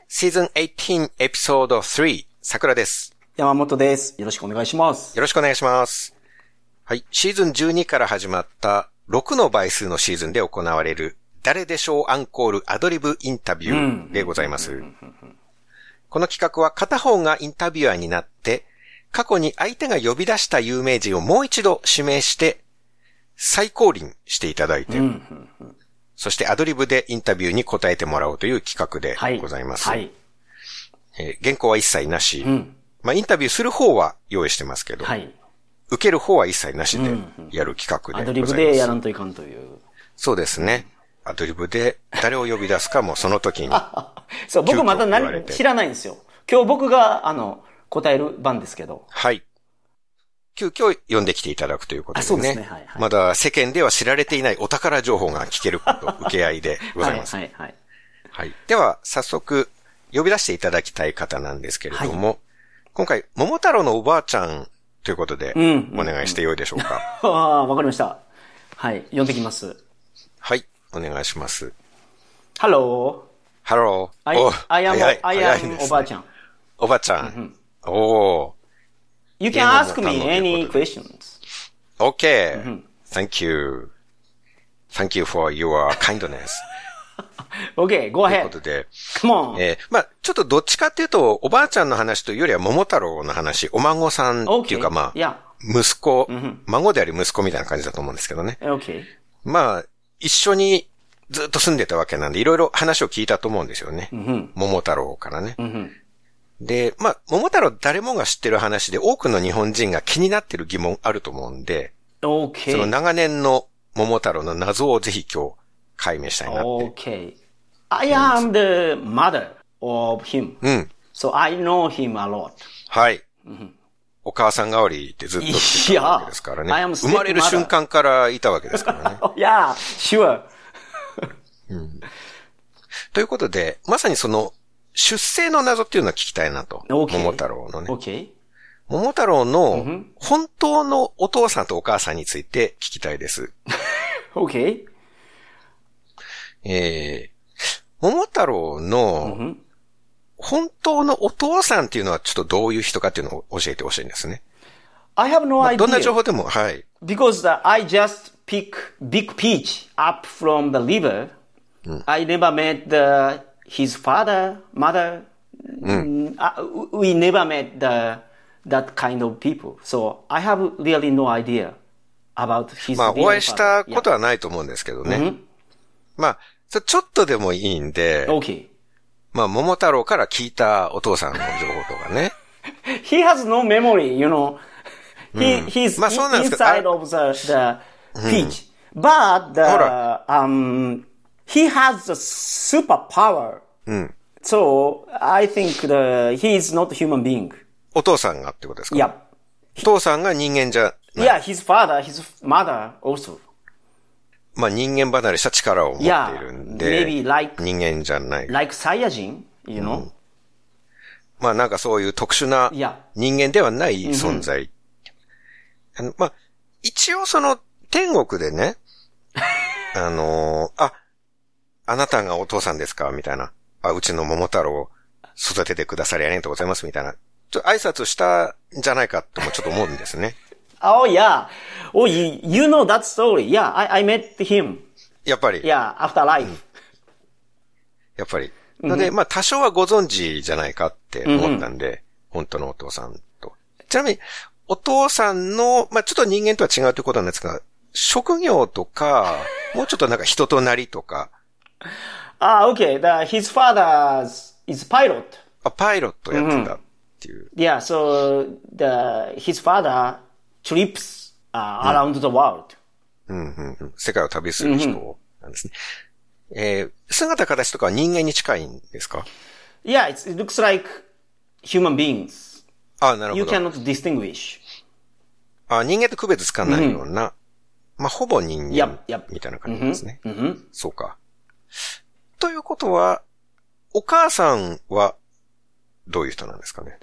Season 18 Episode 3桜です。 山本です。よろしくお願いします。 よろしくお願いします。はい。シーズン12から始まった6の倍数のシーズンで行われる誰でしょうアンコールアドリブインタビューでございます。この企画は片方がインタビュアーになって過去に相手が呼び出した有名人をもう一度指名して再降臨していただいて、そしてアドリブでインタビューに答えてもらおうという企画でございます。はい。原稿は一切なし、まあインタビューする方は用意してますけど、はい、受ける方は一切なしでやる企画でございます。 アドリブでやらんといかんという。 そうですね。アドリブで誰を呼び出すかもその時に。 そう、僕また知らないんですよ。今日僕が答える番ですけど。 はい。急遽呼んできていただくということでね。 そうですね。はいはい、 まだ世間では知られていないお宝情報が聞けること、受け合いでございます。はいはいはい。はい。では、早速、呼び出していただきたい方なんですけれども、はい、今回、桃太郎のおばあちゃんということで、お願いしてよいでしょうか。 ああ、わかりました。はい。呼んできます。 はい。お願いします。 Hello. Hello. I am おばあちゃん。 おばあちゃん。おー。 You can ask me any questions. Okay. Thank you. Thank you for your kindness. Okay, go ahead. ということで。 Come on. まあちょっとどっちかっていうと、おばあちゃんの話というよりは桃太郎の話、お孫さんっていうかまあ、息子、孫であり息子みたいな感じだと思うんですけどね。 Okay. まあ、一緒にずっと住んでたわけなんで、いろいろ話を聞いたと思うんですよね。桃太郎からね。で、まあ、桃太郎誰もが知ってる話で多くの日本人が気になってる疑問あると思うんで、 okay. その長年の桃太郎の謎をぜひ今日解明したいなって。 Okay. I am the mother of him. So I know him a lot. はい。お母さん代わりってずっと来てたわけですからね。生まれる瞬間からいたわけですからね。 Yeah, sure. ということで、まさにその、出生の謎っていうのを聞きたいなと。 Okay. 桃太郎のね。 Okay. 桃太郎の本当のお父さんとお母さんについて聞きたいです。 Okay. 桃太郎の本当のお父さんっていうのはちょっとどういう人かっていうのを教えてほしいんですね。 I have no idea. どんな情報でも、はい。 Because I just pick big peach up from the river. I never met his father, mother. We never met that kind of people. So I have really no idea about his まあ、お会いしたことはないと思うんですけどね。まあ、ちょっとでもいいんで。 Okay. まあ、桃太郎から聞いたお父さんの情報とかね。 He has no memory, you know. He's まあ、そうなんですけど inside of the peach. But he has a superpower. So, I think he is not a human being. お父さんがってことですか？ Yeah. お父さんが人間じゃない。 Yeah, his father, his mother also. まあ人間離れした力を持っているんで、 maybe like, 人間じゃない。 Like Saiyajin, you know? まあなんかそういう特殊な人間ではない存在。まあ、一応その天国でね、あなたがお父さんですかみたいな。うちの桃太郎を育ててくださりありがとうございますみたいな。挨拶したんじゃないかともちょっと思うんですね。 Oh yeah. Oh, you know that story. Yeah, I met him. やっぱり。 Yeah, after life. やっぱり。ので、まあ多少はご存知じゃないかって思ったんで、本当のお父さんと。ちなみに、お父さんの、まあちょっと人間とは違うということなんですが、職業とか、もうちょっとなんか人となりとか。 Okay. His father is pilot. パイロットやってたっていう。 Yeah, so his father trips around the world. 世界を旅する人なんですね。姿形とかは人間に近いんですか？ Yeah, it looks like human beings. なるほど。 You cannot distinguish. 人間と区別つかないような、まあ、ほぼ人間みたいな感じですね。そうか。ということは、お母さんはどういう人なんですかね？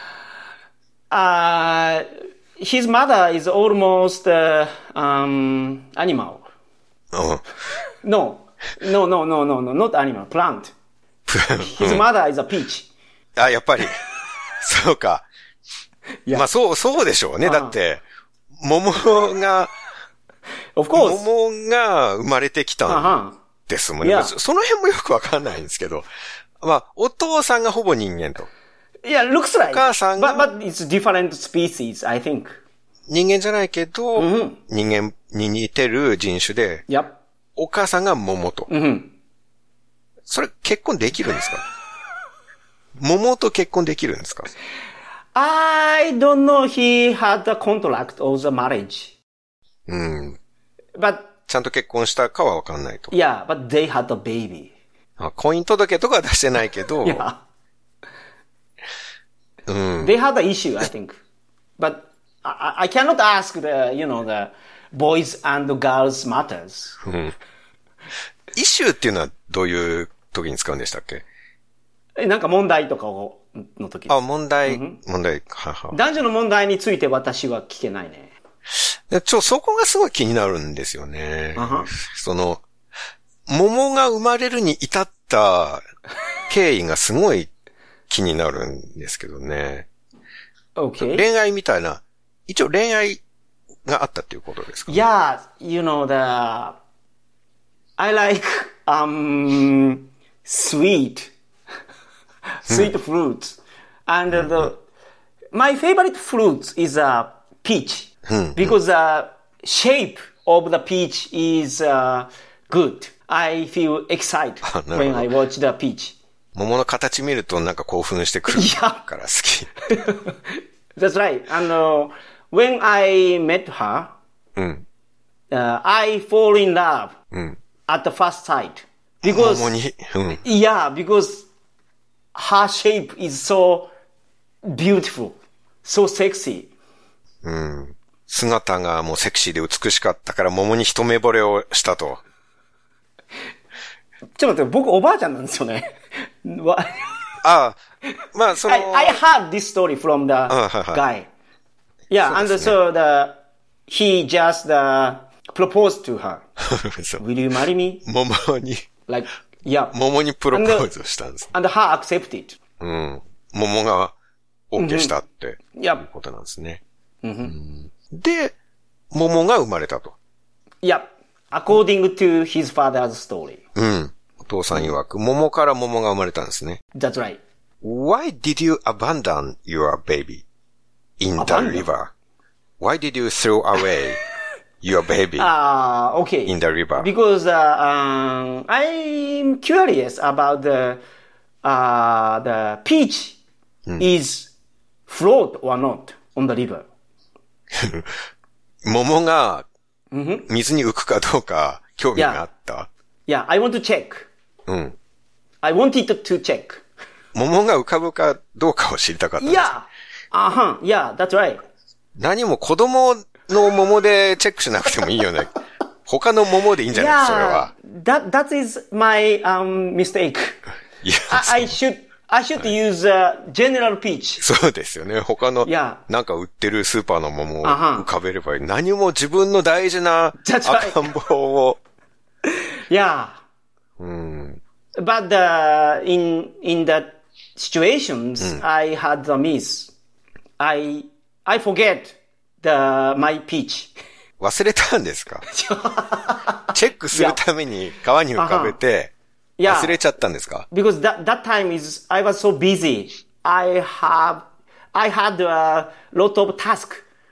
His mother is almost animal. No, not animal, plant. His mother is a peach. あ、やっぱり。そうか。まあそうでしょうね。だって、桃が、 Of course. 桃が生まれてきたんですもんね。その辺もよくわかんないんですけど。まあ、お父さんがほぼ人間と。 Yeah, looks like. お母さんが。 But it's different species, I think. 人間じゃないけど、人間に似てる人種で、お母さんが桃と。それ結婚できるんですか？桃と結婚できるんですか？ I don't know he had a contract of the marriage. But ちゃんと結婚したかはわかんないと。 Yeah, but they had a baby. 婚姻届とかは出してないけど。 Yeah. They had an issue, I think. But I cannot ask the boys and girls matters. イシューっていうのはどういう時に使うんでしたっけ？ なんか問題とかの時です。 あ、問題。 男女の問題について私は聞けないね。 そこがすごい気になるんですよね。桃が生まれるに至った経緯がすごい気になるんですけどね。 Okay. 恋愛みたいな、一応恋愛があったっていうことですか？ Yeah, I like, sweet fruits. And my favorite fruit is peach. Because the shape of the peach is good. I feel excited when I watch the peach. 桃の形見るとなんか興奮してくるから好き。 That's right. And when I met her, I fall in love at the first sight. Because, yeah, because her shape is so beautiful, so sexy. 姿がもうセクシーで美しかったから桃に一目惚れをしたと。 ちょっと待って、僕おばあちゃんなんですよね。 ああ、まあその。 I heard this story from the guy. Yeah, and so he just proposed to her. Will you marry me? 桃に。 Like, yeah. 桃にプロポーズをしたんです。 And her accepted. 桃が OK したっていうことなんですね。で、桃が生まれたと。 Yeah, according to his father's story. お父さん曰く、桃から桃が生まれたんですね。 That's right. Why did you abandon your baby in the river? Why did you throw away your baby okay. in the river? Because I'm curious about the peach is float or not on the river. 桃が水に浮くかどうか興味があった。 Yeah, I want to check. I wanted to check. 桃が浮かぶかどうかを知りたかったんです。 Yeah, that's right. 何も子供の桃でチェックしなくてもいいよね。他の桃でいいんじゃない？それは。 That is my mistake. I should use general peach. そうですよね。他のなんか売ってるスーパーの桃を浮かべればいい。何も自分の大事な赤ん坊を。 Yeah. But in the situations I had the miss. I forget my peach. 忘れたんですか？チェックするために川に浮かべて忘れちゃったんですか？ Because that time I was so busy. I had a lot of task.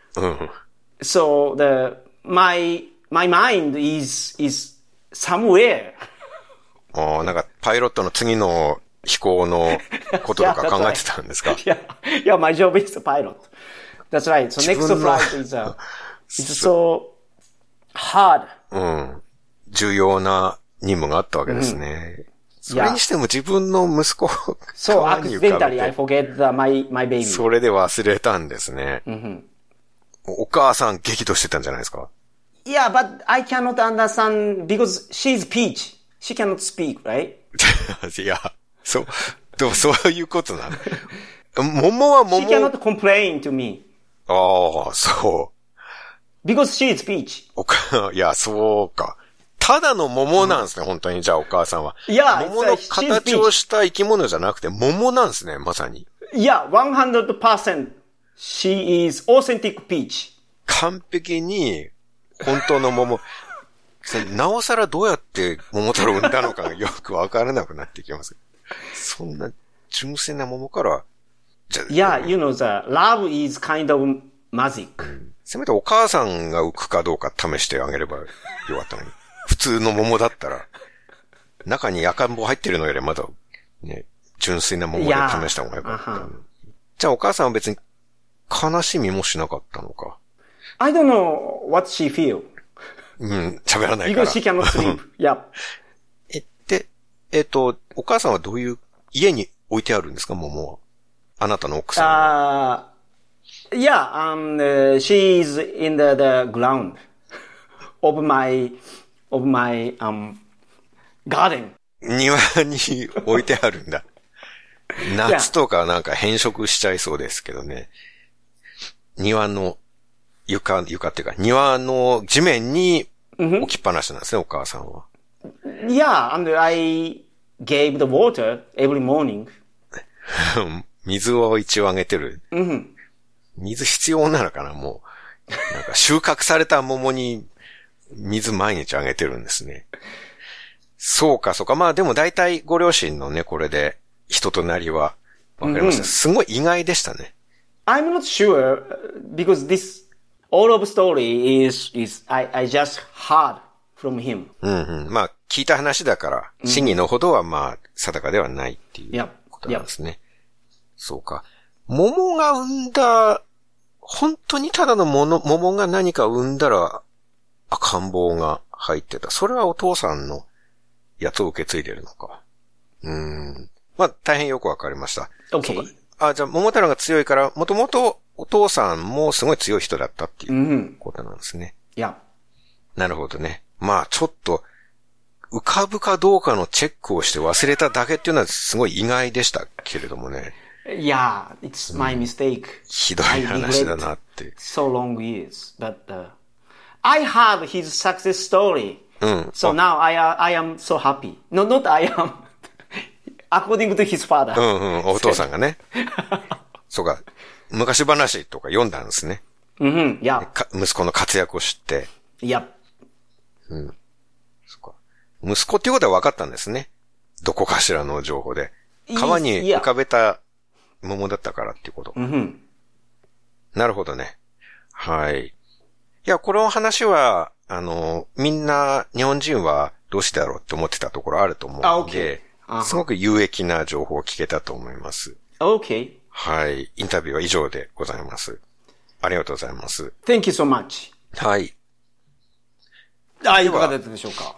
So my mind is somewhere. なんかパイロットの次の飛行のこととか考えてたんですか？ Yeah, my job is a pilot. That's right. So next flight is it's so hard. 重要な任務があったわけですね。それにしても自分の息子を川に浮かべて。 So accidentally I forget my baby. それで忘れたんですね。お母さん激怒してたんじゃないですか？ Yeah, but I cannot understand because she's peach. She cannot speak, right? いや、そういうことなの。桃は桃。 She cannot complain to me. ああ、そう。 Because she is peach. いや、そうか。 ただの桃なんですね、本当に。じゃあお母さんは。 Yeah, 桃の形をした生き物じゃなくて桃なんですね、まさに。 Yeah, 100% she is authentic peach. 完璧に本当の桃。なおさらどうやって桃太郎を産んだのかがよくわからなくなってきます。そんな純粋な桃から。 Yeah, you know, the love is kind of magic. せめてお母さんが浮くかどうか試してあげればよかったのに。普通の桃だったら、中に赤ん坊入ってるのよりまだ、ね、純粋な桃で試した方がよかった。じゃあお母さんは別に悲しみもしなかったのか。 I don't know what she feel. 喋らないから。 Because she cannot sleep. Yeah. で、お母さんはどういう家に置いてあるんですか、桃は。あなたの奥さんは。 Yeah, she is in the ground of my garden. 庭に置いてあるんだ。夏とかなんか変色しちゃいそうですけどね。庭の床っていうか、庭の地面に置きっぱなしなんですね、お母さんは。 Yeah, and I gave the water every morning. 水を一応あげてる。水必要なのかな、もう。なんか収穫された桃に水毎日あげてるんですね。そうか。まあでも大体ご両親のね、これで人となりはわかりました。すごい意外でしたね。 I'm not sure because this all of story is I just heard from him. まあ聞いた話だから真偽のほどはまあ定かではないっていうことなんですね。そうか。桃が生んだ、本当にただの桃が何か生んだら赤ん坊が入ってた。それはお父さんのやつを受け継いでるのか。まあ大変よくわかりました。 Okay. じゃあ桃太郎が強いから、もともとお父さんもすごい強い人だったっていうことなんですね。なるほどね。まあちょっと浮かぶかどうかのチェックをして忘れただけっていうのはすごい意外でしたけれどもね。 Yeah, it's my mistake. ひどい話だなって。 So long years, but I heard his success story. So now I am so happy. No, not I am. According to his father. お父さんがね。そうか。昔話とか読んだんですね。 Yeah. 息子の活躍を知って。 Yep. そうか。息子っていうことは分かったんですね。どこかしらの情報で。川に浮かべた桃だったからっていうこと。なるほどね。はい。いや、この話は、みんな、日本人はどうしてだろうって思ってたところあると思うので、すごく有益な情報を聞けたと思います。 Okay. はい。インタビューは以上でございます。ありがとうございます。 Thank you so much. はい。 いかがだったでしょうか。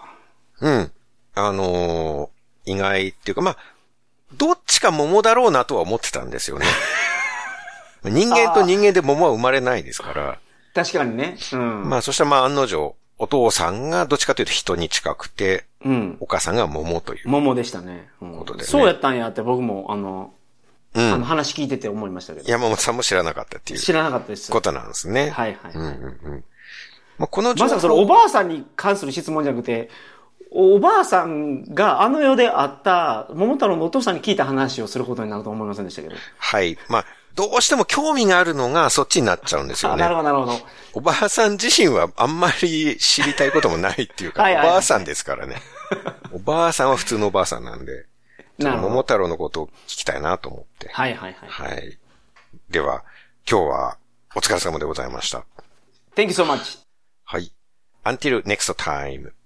意外っていうか、まあ、どっちか桃だろうなとは思ってたんですよね。人間と人間で桃は生まれないですから。 確かにね。 まあ、そしたらまあ案の定、お父さんがどっちかというと人に近くて、お母さんが桃という。 桃でしたね。 ことでね。 そうやったんやって僕も、話聞いてて思いましたけど。 山本さんも知らなかったっていう。 知らなかったです。 ことなんですね。 はい。 まあ、この情報。 まさかそのおばあさんに関する質問じゃなくて、おばあさんがあの世であった桃太郎のお父さんに聞いた話をすることになると思いませんでしたけど。 はい。まあ、どうしても興味があるのがそっちになっちゃうんですよね。 なるほど。 おばあさん自身はあんまり知りたいこともないっていうか、おばあさんですからね。おばあさんは普通のおばあさんなんで、桃太郎のことを聞きたいなと思って。はい。では、今日はお疲れ様でございました。 Thank you so much. はい。Until next time.